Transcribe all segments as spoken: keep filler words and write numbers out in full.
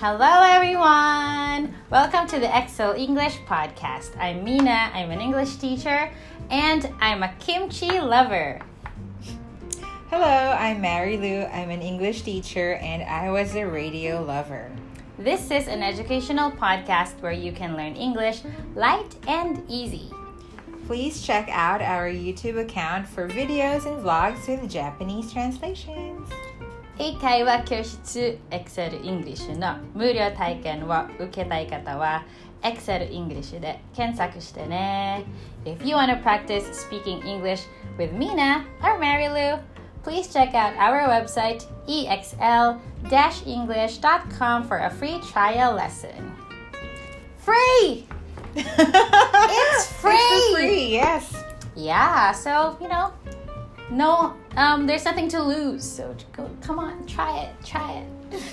Hello everyone! Welcome to the Excel English podcast. I'm Mina, I'm an English teacher, and I'm a kimchi lover. Hello, I'm Mary Lou, I'm an English teacher, and I was a radio lover. This is an educational podcast where you can learn English light and easy. Please check out our YouTube account for videos and vlogs with Japanese translations. 英会話教室 Excel English の無料体験を受けたい方は Excel English で検索してね。If you want to practice speaking English with Mina or Mary Lou, please check out our website e x l dash english dot com for a free trial lesson. Free! It's free! It's free, yes. Yeah, so, you know, no, um, there's nothing to lose. So go, come on, try it, try it.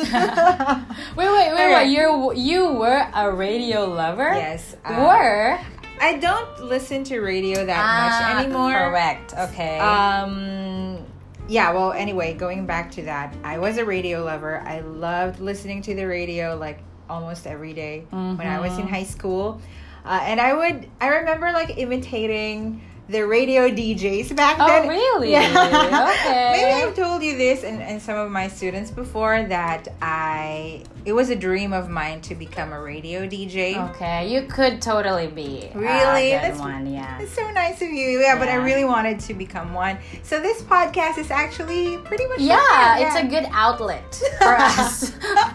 wait, wait, wait, Okay. wait. You you were a radio lover? Yes. uh, Were? I don't listen to radio that Ah, much anymore. Correct. Okay. Um, yeah, well, anyway, going back to that, I was a radio lover. I loved listening to the radio like almost every day when I was in high school. Uh, and I would, I remember like imitating the radio D Js back Oh, then. really? Yeah. Okay. Maybe I've told you this and, and some of my students before that I, it was a dream of mine to become a radio D J. Okay, you could totally be Really? a good That's- one, yeah. It's so nice of you. Yeah, but I Yeah. really wanted to become one. So this podcast is actually pretty much Yeah, that. it's a good outlet for us.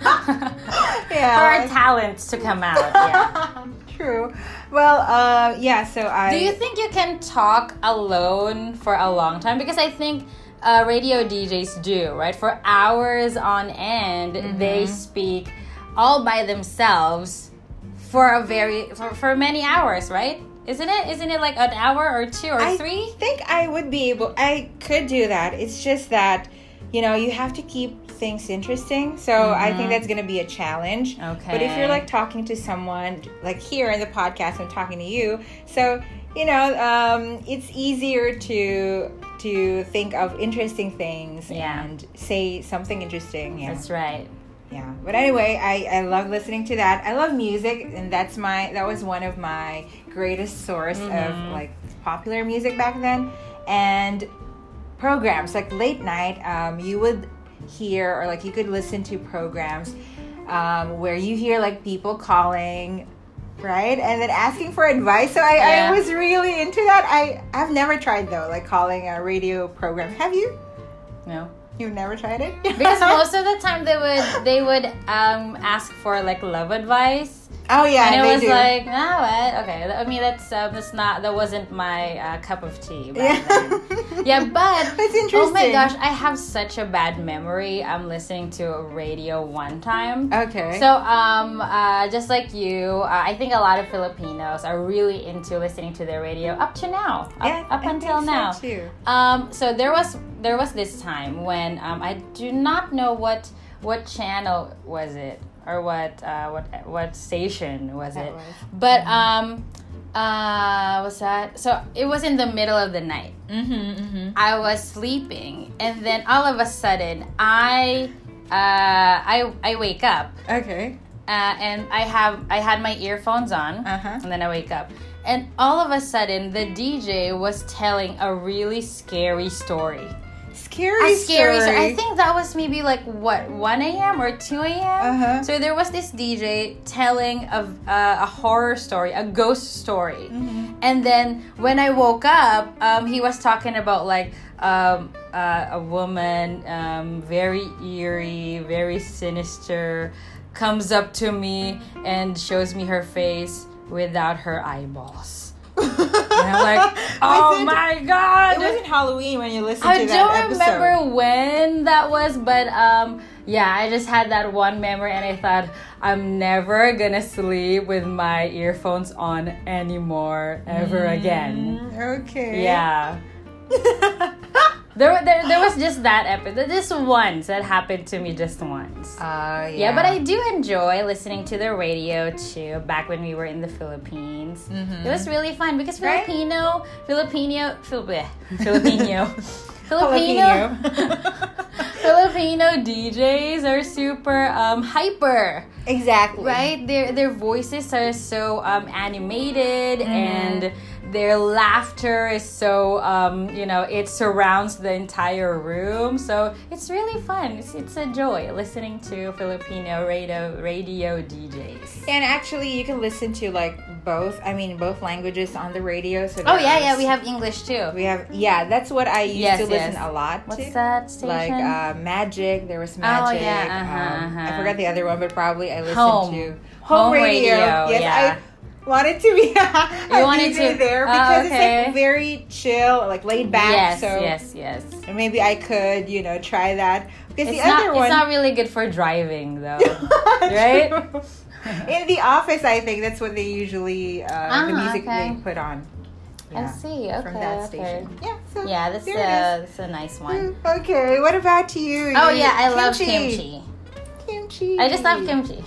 Yeah. For our talents to come out, yeah. True. Well, uh, yeah, so I... Do you think you can talk alone for a long time? Because I think uh, radio D Js do, right? For hours on end, Mm-hmm. they speak all by themselves for a very for, for many hours, right? Isn't it? Isn't it like an hour or two or I three? think I would be able... I could do that. It's just that, you know, you have to keep things interesting. So I think that's going to be a challenge. Okay. But if you're like talking to someone, like here in the podcast, I'm talking to you. So, you know, um, it's easier to to think of interesting things Yeah. and say something interesting. Yeah. That's right. Yeah. But anyway, I, I love listening to that. I love music, and that's my that was one of my greatest source of like popular music back then. And programs like late night, um, you would hear or like you could listen to programs um, where you hear like people calling, right, and then asking for advice. So I, Yeah. I was really into that. I I've never tried though, like calling a radio program. Have you? No. You've never tried it? Because most of the time they would they would um, ask for like love advice. Oh yeah, And it they was do. like, oh, what? Okay. I mean, that's uh, that's not that wasn't my uh, cup of tea back Yeah. then. Yeah, but That's interesting. oh my gosh, I have such a bad memory. I'm listening to a radio one time. Okay. So, um, uh, just like you, uh, I think a lot of Filipinos are really into listening to the radio up to now, up, Yeah, up I until think so now. too. Um, so there was there was this time when um, I do not know what what channel was it or what uh, what what station was That it, was. but um, uh, what's that? So it was in the middle of the night. Mm-hmm, mm-hmm. I was sleeping, and then all of a sudden, I uh, I I wake up, Okay. uh, and I have I had my earphones on, Uh-huh. and then I wake up, and all of a sudden, the D J was telling a really scary story. Scary, A scary story. story. I think that was maybe like what one a.m. or two a.m. Uh-huh. So there was this D J telling of uh, a horror story, a ghost story, Mm-hmm. and then when I woke up, um, he was talking about like um, uh, a woman, um, very eerie, very sinister, comes up to me and shows me her face without her eyeballs. And I'm like, oh Was it- my god! It wasn't Halloween when you listened I to that don't episode. remember when that was, but um, yeah, I just had that one memory, and I thought I'm never gonna sleep with my earphones on anymore ever again. Mm, okay. Yeah. There, there, there was just that episode, just once that happened to me, just once. Uh, yeah. Yeah, but I do enjoy listening to the radio too. Back when we were in the Philippines, Mhm. it was really fun because Right? Filipino, Filipino, Fil- bleh, Filipino, Filipino. Filipino, Filipino D Js are super um, hyper. Exactly. Right? Their their voices are so um, animated, mm-hmm. and their laughter is so, um, you know, it surrounds the entire room. So it's really fun. It's, it's a joy listening to Filipino radio, radio D Js. And actually, you can listen to like both, I mean, both languages on the radio. So oh, yeah, yeah. We have English too. We have, yeah, that's what I used yes, to listen yes. a lot to. What's that station? Like uh, Magic. There was Magic. Oh, yeah. Uh-huh, um, uh-huh. I forgot the other one, but probably I listened Home. to Home, Home radio. radio. Yes, yeah. I wanted to be a you wanted D J to there oh, because okay. it's like very chill, like laid back. Yes, so yes, yes. maybe I could, you know, try that. Because It's the not, other one, it's not really good for driving, though, right? In the office, I think that's what they usually uh, uh-huh, the music okay. they put on. I see. Okay, from that okay. station. Yeah, so Yeah, that's there a it that's a nice one. is. Okay, what about you? Oh You- yeah, I love kimchi. Kimchi. I just love kimchi.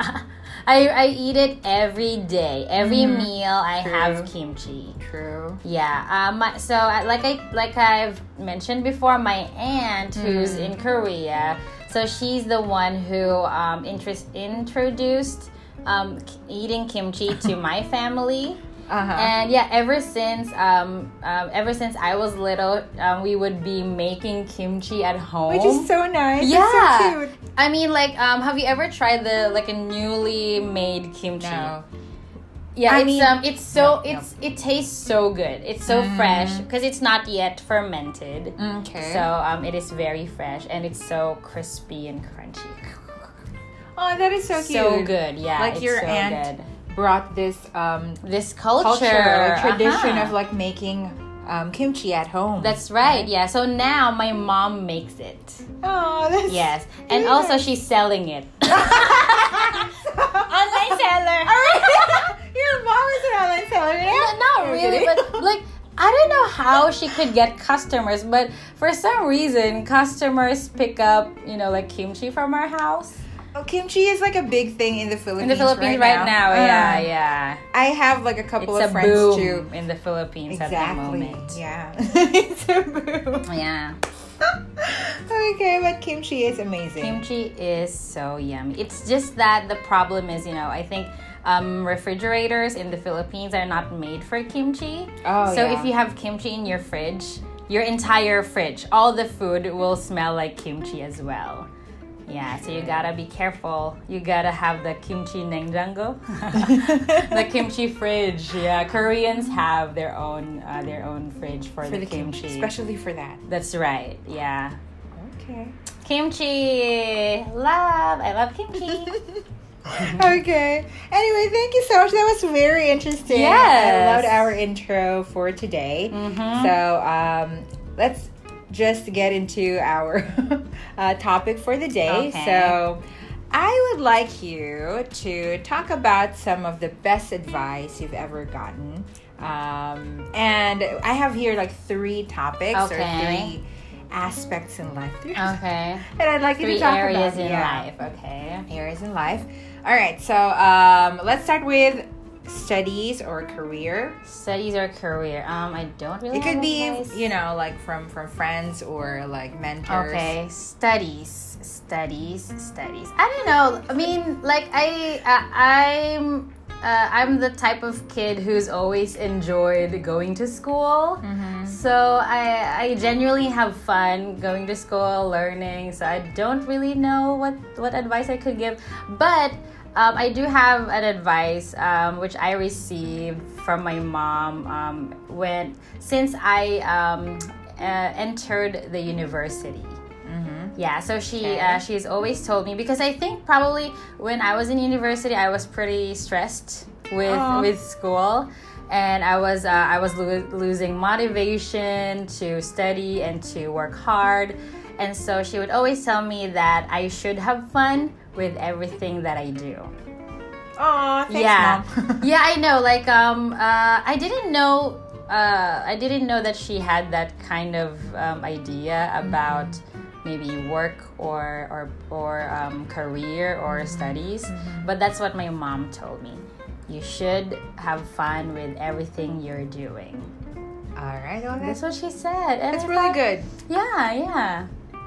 I I eat it every day. Every Mhm. meal I True. have kimchi. True. Yeah. Um. my- So I- like I like I've mentioned before, my aunt who's Mm. in Korea. So she's the one who um interest introduced um k- eating kimchi to my family. Uh-huh. And yeah, ever since um, um ever since I was little, um, we would be making kimchi at home. Which is so nice. Yeah. It's so cute. I mean, like, um, have you ever tried the like a newly made kimchi? No. Yeah, I it's mean- um, it's so no, no. it's it tastes so good. It's so Mm. fresh because it's not yet fermented. Okay. So um, it is very fresh and it's so crispy and crunchy. Oh, that is so cute. So good, yeah. Like it's your so aunt good. brought this um This culture, culture, like, tradition uh-huh. of like making um, kimchi at home. That's right. Yeah. So now my mom makes it. Oh, that's Yes, and really also nice. she's selling it. Online seller. Your mom is an online seller. Yeah? No, not I'm really, kidding. but like I don't know how she could get customers, but for some reason customers pick up, you know, like kimchi from our house. Oh, kimchi is like a big thing in the Philippines. In the Philippines right, now, Uh, yeah, yeah. I have like a couple It's of a friends boom too. in the Philippines at the Exactly. moment. Yeah. It's a boom. Yeah. Okay, but kimchi is amazing. Kimchi is so yummy. It's just that the problem is, you know, I think um, refrigerators in the Philippines are not made for kimchi. Oh, so yeah. if you have kimchi in your fridge, your entire fridge, all the food will smell like kimchi as well. Yeah, so you gotta be careful. You gotta have the kimchi 냉장고, the kimchi fridge. Yeah, Koreans have their own uh, their own fridge for, for the, the kimchi, kimchi. especially for that. That's right. Yeah. Okay. Kimchi, love. I love kimchi. Okay. Anyway, thank you so much. That was very interesting. Yes. I loved our intro for today. Mhm. So um, let's just get into our uh, topic for the day. Okay. So I would like you to talk about some of the best advice you've ever gotten. Um, and I have here like three topics Okay. or three aspects in life. Okay. And I'd like you Three to talk areas about in yeah. life. Okay. Areas in life. All right, so um, let's start with studies or career. Studies or career? Um, I don't really. It could have be, advice. you know, like from from friends or like mentors. Okay, studies, studies, studies. I don't know. I mean, like I, uh, I'm, uh, I'm the type of kid who's always enjoyed going to school. Mm-hmm. So I, I genuinely have fun going to school, learning. So I don't really know what what advice I could give, but. Um, I do have an advice um, which I received from my mom um, when since I um, uh, entered the university. Mm-hmm. Yeah, so she Okay. uh, she's always told me because I think probably when I was in university I was pretty stressed with Aw. with school, and I was uh, I was lo- losing motivation to study and to work hard, and so she would always tell me that I should have fun with everything that I do. Aw, thanks, yeah, Mom. yeah, I know. Like, um, uh, I didn't know. Uh, I didn't know that she had that kind of um, idea about maybe work or or or um, career or studies. But that's what my mom told me. You should have fun with everything you're doing. All right, well, That's that's, what she said. And that's I really thought, good. Yeah, yeah.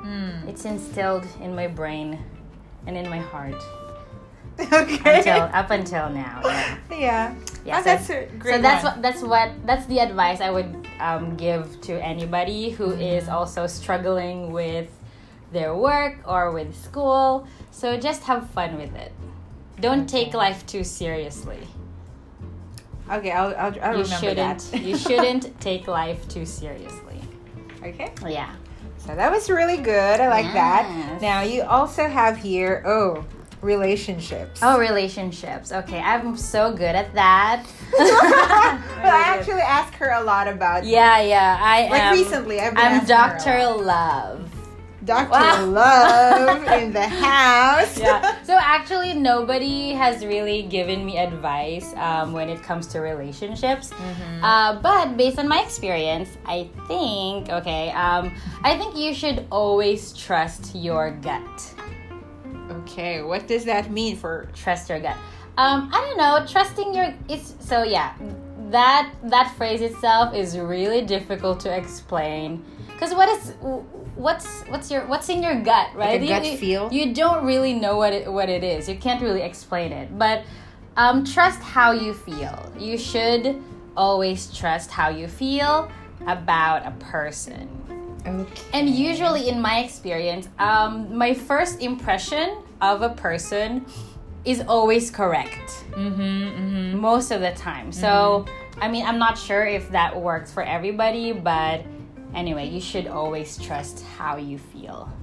Mm. It's instilled in my brain and in my heart. Okay. Until up until now. Yeah. Yeah. Yeah, Oh, so, that's a great so that's one. what that's what that's the advice I would um, give to anybody who is also struggling with their work or with school. So just have fun with it. Don't Okay. take life too seriously. Okay, I'll, I'll, I'll You remember shouldn't that. you shouldn't take life too seriously. Okay. Yeah. So that was really good. I like that. Yes. Now you also have here, oh, relationships. Oh, relationships. Okay, I'm so good at that. Well, I actually asked her a lot about Yeah, yeah. I Like am. recently, I've been I'm asking her a Doctor lot. Love. Doctor Wow. Love in the house. Yeah. So actually, nobody has really given me advice um, when it comes to relationships. Mm-hmm. Uh, but based on my experience, I think okay. Um, I think you should always trust your gut. Okay, what does that mean for? Trust your gut. Um, I don't know. Trusting your it's so yeah. That that phrase itself is really difficult to explain. Because what is what's what's your what's in your gut, right? Like a you, gut you- feel? You don't really know what it what it is. You can't really explain it. But um, trust how you feel. You should always trust how you feel about a person. Okay. And usually, in my experience, um, my first impression of a person is always correct Mm-hmm, mm-hmm. most of the time. So, I mean, I'm not sure if that works for everybody, but anyway, you should always trust how you feel.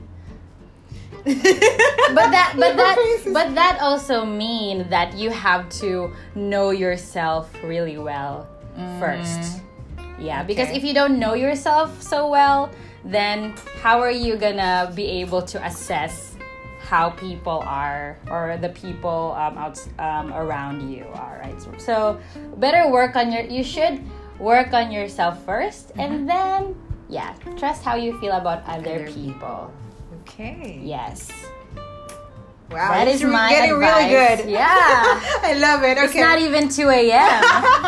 But that, but that, but that also mean that you have to know yourself really well first. Yeah, because Okay. if you don't know yourself so well, then how are you gonna be able to assess how people are or the people um, out um, around you are, right? So, so better work on your. You should work on yourself 1st and then yeah, trust how you feel about other, Other people. Okay. Yes, Wow, that it's is re- my getting advice. really good. Yeah, I love it. Okay. it's not even two a.m.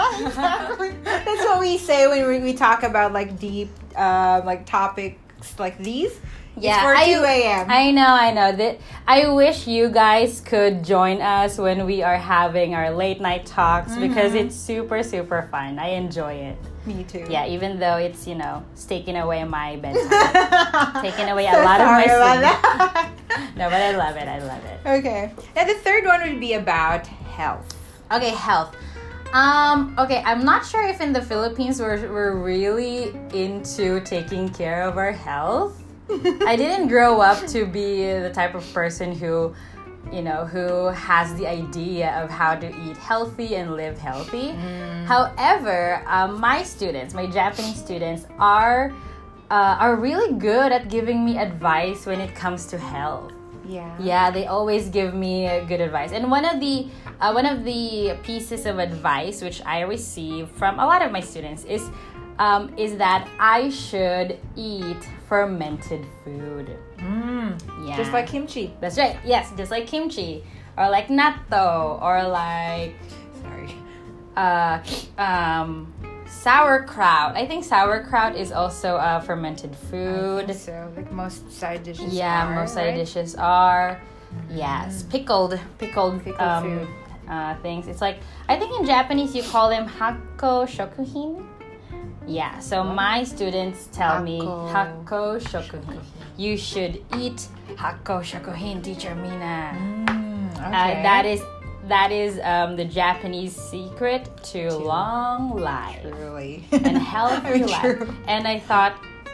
That's what we say when we, we talk about like deep, um, like topics like these. Yeah, it's for I- two a.m. I know, I know. That I wish you guys could join us when we are having our late night talks because it's super, super fun. I enjoy it. Me too. Yeah, even though it's, you know, it's taking away my bedtime. Taking away a lot of Sorry my about sleep. that. No, but I love it. I love it. Okay. Now the third one would be about health. Okay, health. Um, okay, I'm not sure if in the Philippines we're, we're really into taking care of our health. I didn't grow up to be the type of person who, you know, who has the idea of how to eat healthy and live healthy. However, um, my students, my Japanese students, are uh, are really good at giving me advice when it comes to health. Yeah. Yeah, they always give me uh, good advice. And one of the uh, one of the pieces of advice which I receive from a lot of my students is um, is that I should eat fermented food. Mm. Yeah, Just like kimchi. that's right. Yes, just like kimchi or like natto or like Sorry. uh, um, sauerkraut. I think sauerkraut is also a fermented food. So like most side dishes. Yeah, are, most side right? dishes are. Yes, pickled, pickled, Pickled um, food. uh, things. It's like I think in Japanese you call them hakko shokuhin. Yeah, so my students tell me Hakko hakko shokuhin. You should eat hakko shokuhin, teacher Mina. Mm, okay. Uh, that is that is um, the Japanese secret to long life Truly. and healthy Very life. true. And I thought,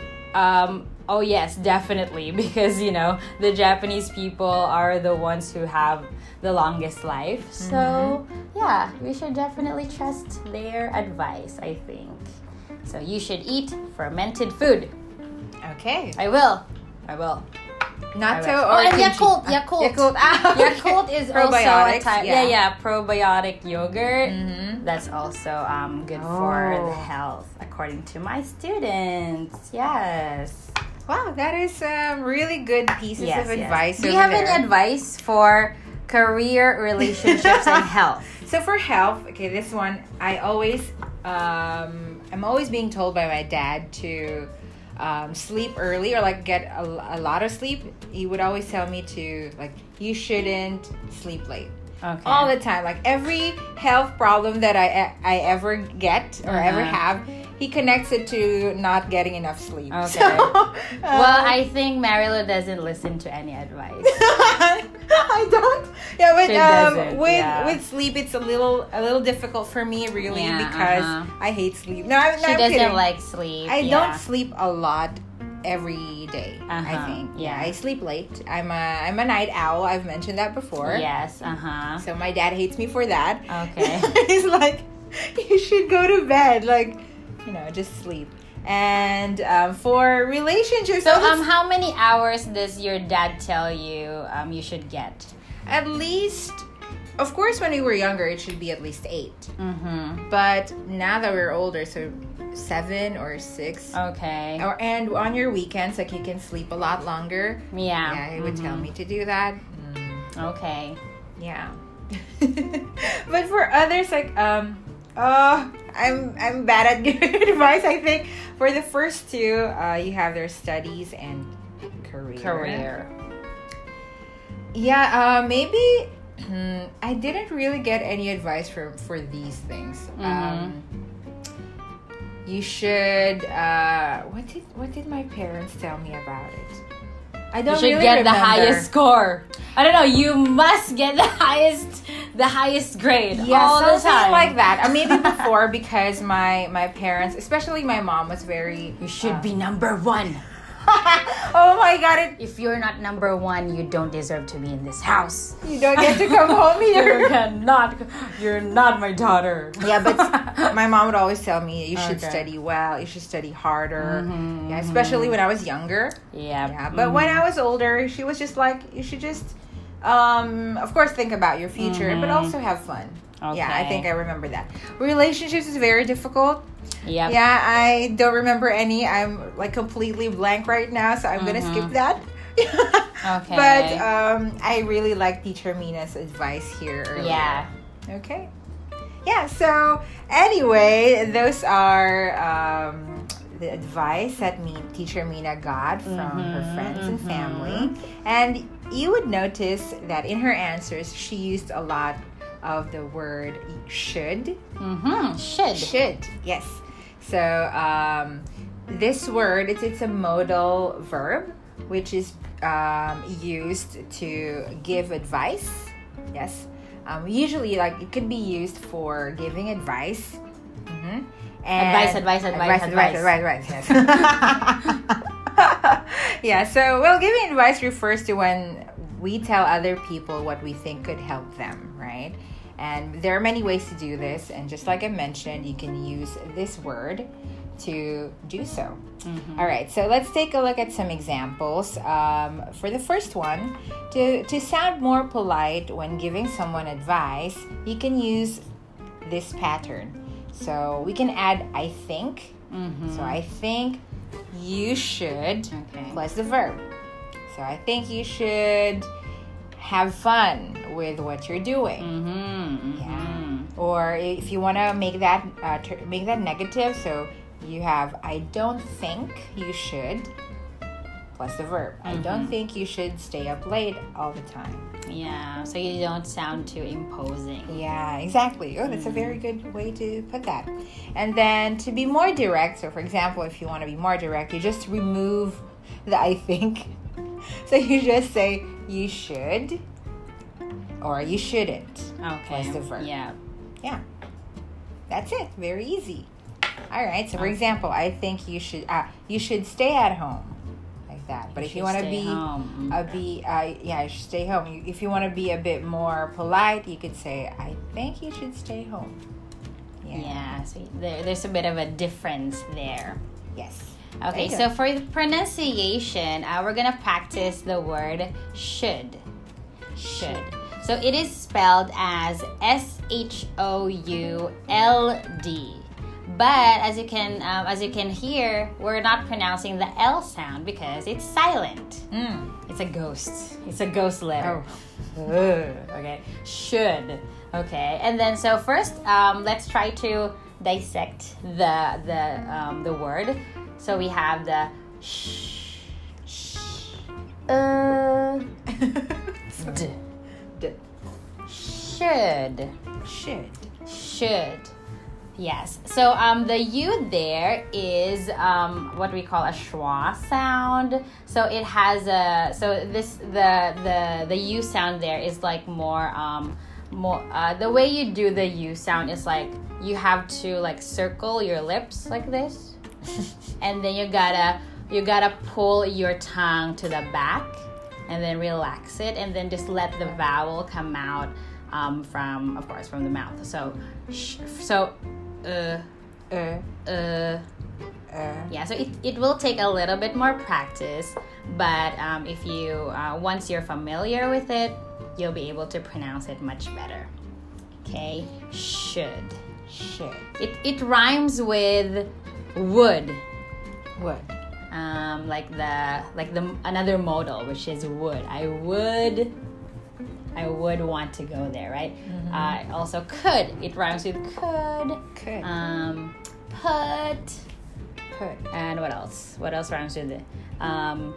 um, oh yes, definitely, because you know the Japanese people are the ones who have the longest life. So Mm-hmm. yeah, we should definitely trust their advice, I think. So you should eat fermented food. Okay. I will. I will. Natto I will. or Oh, and kimchi? Yakult. Ah, Yakult. Yakult. Ah, okay. Yakult is also a Probiotics, type. yeah. Yeah, yeah, probiotic yogurt. Mhm. That's also um, good for Oh. the health, according to my students. Yes. Wow, that is um, really good pieces Yes, of yes. advice. Do you over have there. any advice for career, relationships, and health? So for health, okay, this one I always, um, I'm always being told by my dad to um, sleep early or like get a, a lot of sleep, he would always tell me to like, you shouldn't sleep late. Okay. All the time. Like every health problem that I I ever get or Uh-huh. ever have, he connects it to not getting enough sleep. Okay. So, uh, Well, I think Marilu doesn't listen to any advice. I don't. Yeah, but She um, doesn't, with yeah. with sleep, it's a little a little difficult for me, really, Yeah, because uh-huh. I hate sleep. No, I'm, no, She I'm doesn't kidding. like sleep. I yeah. don't sleep a lot every day. I Uh-huh, think. yeah. I sleep late. I'm a I'm a night owl. I've mentioned that before. Yes. Uh huh. So my dad hates me for that. Okay. He's like, you should go to bed. Like, you know, just sleep. And um, for relationships, So, oh, that's- um, how many hours does your dad tell you um you should get? at least, of course, when we were younger, it should be at least eight. Mm-hmm. But now that we're older, so seven or six. Okay. Or and on your weekends, like you can sleep a lot longer. Yeah. Yeah, he would Mhm. tell me to do that. Okay. Yeah. But for others, like um, oh, I'm I'm bad at giving advice. I think for the first two, uh, you have their studies and career. Career. Yeah. Uh, maybe hmm, I didn't really get any advice for for these things. Mhm. Um, you should. Uh, what did what did my parents tell me about it? I You don't should really get the remember. highest score. I don't know. You must get the highest, the highest grade Yeah, all the something time. like that. Uh, maybe before, because my my parents, especially my mom, was very. You should uh, be number one. Oh my god! It, If you're not number one, you don't deserve to be in this house. you don't get to come home You here. cannot. You're not my daughter. Yeah, but my mom would always tell me you should Okay. study well. You should study harder. Mhm, Yeah, especially when I was younger. Yeah. Yeah, but when I was older, she was just like, you should just, um, of course, think about your future, but Mhm. also have fun. Yeah, I Okay. think I remember that. Relationships is very difficult. Yep. Yeah, I don't remember any. I'm like completely blank right now, so I'm gonna Mhm. skip that. Okay. But um, I really like Teacher Mina's advice here earlier. Yeah. Okay. Yeah. So anyway, those are um, the advice that me Teacher Mina got from her Mhm, friends and mhm. family, and you would notice that in her answers she used a lot of the word should. Mm-hmm. Should. Should, yes. So um, this word, it's, it's a modal verb, which is um, used to give advice. Yes. Um, usually, like, it could be used for giving advice. Mm-hmm. And Advice, advice, advice, advice, advice, advice, yes. Yeah, so, well, giving advice refers to when we tell other people what we think could help them, right? And there are many ways to do this, and just like I mentioned, you can use this word to do so. Mhm. All right, so let's take a look at some examples. Um, for the first one, to, to sound more polite when giving someone advice, you can use this pattern. So we can add I think. Mhm. So I think you should Okay. plus the verb. So I think you should have fun with what you're doing. Mm-hmm. Yeah. Or if you want to make that uh, ter- make that negative, so you have I don't think you should plus the verb. I don't Mhm. think you should stay up late all the time. Yeah. So you don't sound too imposing. Yeah, exactly. Oh, that's a very good way to put that. And then to be more direct, so for example, if you want to be more direct, you just remove the I think. So you just say you should or you shouldn't. Okay. Plus the verb. Yeah. Yeah. That's it. Very easy. All right. So for Okay. example, I think you should uh, you should stay at home. Like that. But You if you should want to stay be home. uh, be uh, yeah, you should stay home. You, if you want to be a bit more polite, you could say I think you should stay home. Yeah. So there, there's a bit of a difference there. Yes. Okay, There you so go. for the pronunciation, uh, we're gonna practice the word should. Should. So it is spelled as S H O U L D. But as you can um, as you can hear, we're not pronouncing the L sound because it's silent. Mm. It's a ghost. It's a ghost letter. Oh. Okay. Should. Okay. And then so first, um, let's try to dissect the the um, the word. So we have the sh, uh, d, D. should, Should. should. Yes. So um, the U there is um, what we call a schwa sound. So it has a so this the the the U sound there is like more um more uh, the way you do the U sound is like you have to like circle your lips like this, and then you gotta you gotta pull your tongue to the back, and then relax it, and then just let the vowel come out um, from of course from the mouth. So sh- so. Uh, Uh. uh, Uh. yeah, so it, it will take a little bit more practice, but um, if you uh, once you're familiar with it, you'll be able to pronounce it much better. Okay, should. Should. It it rhymes with would, Would. um, like the like the another modal, which is would. I would. I would want to go there, right? Mm-hmm. Uh, also, could. It rhymes with could. Could. Um, put. Put. And what else? What else rhymes with it? Um,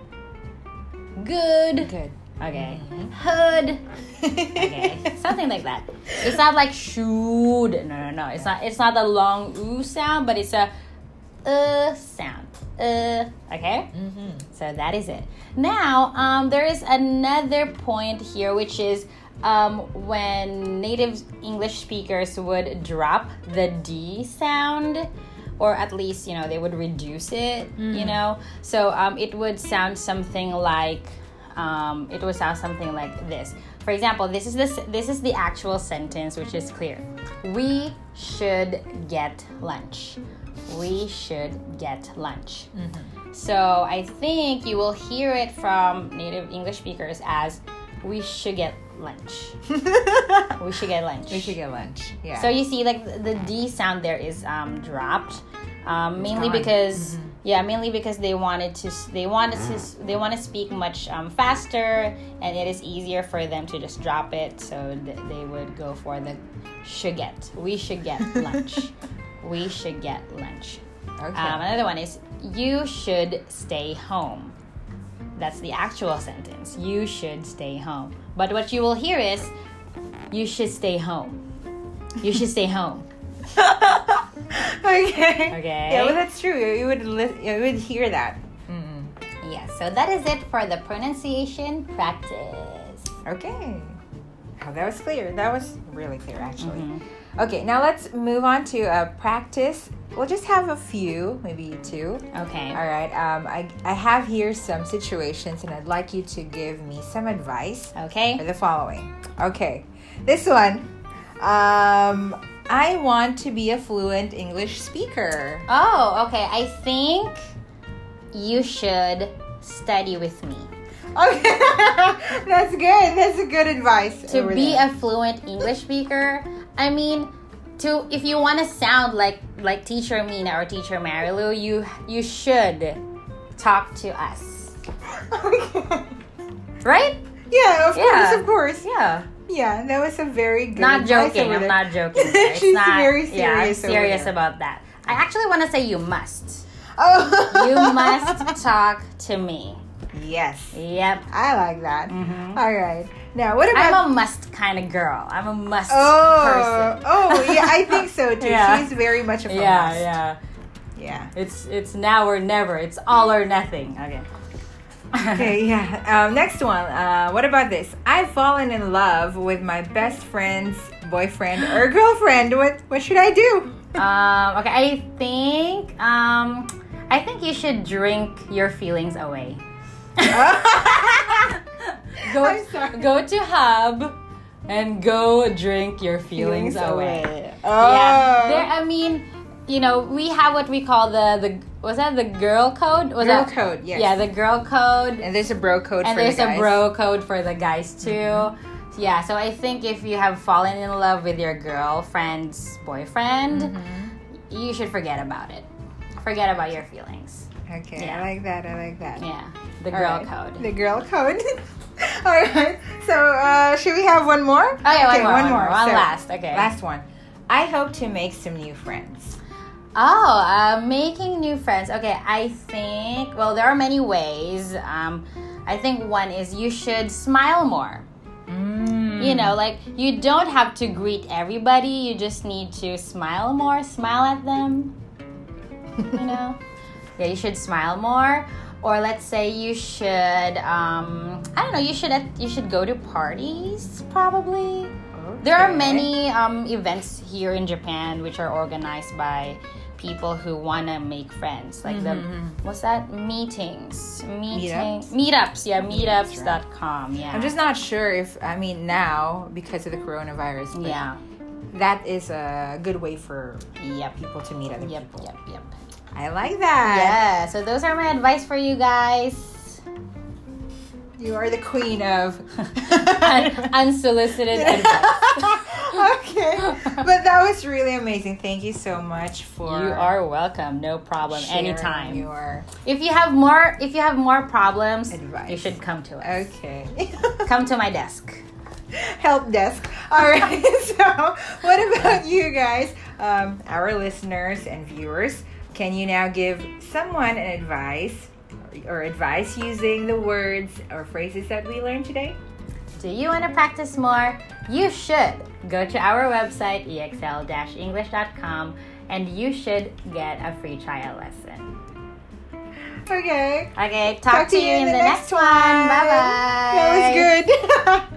good. Good. Okay. Hood. Okay. Something like that. It's not like should. No, no, no. It's not. It's not the long oo sound, but it's a uh sound. Uh. Okay. Mm-hmm. So that is it. Now, um, there is another point here, which is um, when native English speakers would drop the D sound, or at least, you know, they would reduce it, mm. you know. So um, it would sound something like, um, it would sound something like this. For example, this is this this is the actual sentence, which is clear. We should get lunch. We should get lunch. Mm-hmm. So I think you will hear it from native English speakers as we should get lunch. We should get lunch. We should get lunch. Yeah. So you see, like the D sound there is um, dropped, um, mainly gone. because Mm-hmm. yeah, mainly because they wanted to they wanted to they want to speak much um, faster, and it is easier for them to just drop it. So th- they would go for the should get. We should get lunch. We should get lunch. Okay. Um, another one is you should stay home. That's the actual sentence. You should stay home. But what you will hear is you should stay home. You should stay home. Okay. Okay. Yeah, well, that's true. You would li- you would hear that. Mm. Yes, so that is it for the pronunciation practice. Okay. Oh, that was clear. That was really clear, actually. Mm-hmm. Okay, now let's move on to uh, practice. We'll just have a few, maybe two. Okay. All right. Um, I I have here some situations, and I'd like you to give me some advice for Okay. the following. Okay, this one. Um, I want to be a fluent English speaker. Oh, okay. I think you should study with me. Okay, that's good. That's a good advice. To over be there. a fluent English speaker, I mean, to if you want to sound like like Teacher Mina or Teacher Marilu, you you should talk to us, Okay. right? Yeah, of Yeah. course, of course. Yeah. Yeah, that was a very good Not advice joking. over I'm there. not joking. there. It's She's not, very Yeah, I'm serious over serious there. about that. I actually want to say you must. Oh. You must talk to me. Yes. Yep. I like that. Mhm. All right. Now, what I'm about... a must kind of girl. I'm a must oh. person. Oh, yeah, I think so too. Yeah. She's very much of a Yeah, must. yeah. Yeah. It's it's now or never. It's all or nothing. Okay. Okay, yeah. Um, next one. Uh, what about this? I've fallen in love with my best friend's boyfriend or girlfriend. What what should I do? um, okay, I think um, I think you should drink your feelings away. go I'm sorry. go to Hub and go drink your feelings, away. Oh. Yeah, there. I mean, you know, we have what we call the the was that the girl code? Was Girl that, code, yes. Yeah, the girl code. And there's a bro code And for there's the guys. a bro code for the guys too. Mm-hmm. Yeah, so I think if you have fallen in love with your girlfriend's boyfriend, Mm-hmm. you should forget about it. Forget about your feelings. Okay, Yeah. I like that. I like that. Yeah, the All girl right. code. The girl code. All right. So, uh, should we have one more? Oh yeah, Okay, one more, one more, one So, last. Okay. Last one. I hope to make some new friends. Oh, uh, making new friends. Okay, I think, well, there are many ways. Um, I think one is you should smile more. Mm. You know, like you don't have to greet everybody. You just need to smile more, smile at them. You know? Yeah, you should smile more. Or let's say you should, um, I don't know, you should you should go to parties, probably. Okay. There are many um, events here in Japan which are organized by people who want to make friends. Like Mm-hmm. the, what's that? Meetings. Meeting, Meetups? meetups, yeah, Meetups, meetups dot com, yeah. I'm just not sure if, I mean, now, because of the coronavirus, but Yeah. that is a good way for Yep. people to meet other Yep, people. yep, yep. I like that. Yeah, so those are my advice for you guys. You are the queen of Un- unsolicited advice. Okay, but that was really amazing. Thank you so much for You are welcome. No problem. sharing Anytime. your If you have more if you have more problems, Advice. you should come to us. okay. Come to my desk. Help desk. All right. So, what about you guys, um, our listeners and viewers? Can you now give someone an advice or advice using the words or phrases that we learned today? Do you want to practice more? You should go to our website e x l dash english dot com and you should get a free trial lesson. Okay. Okay, talk, to, you in the, next one. Bye bye. That was good.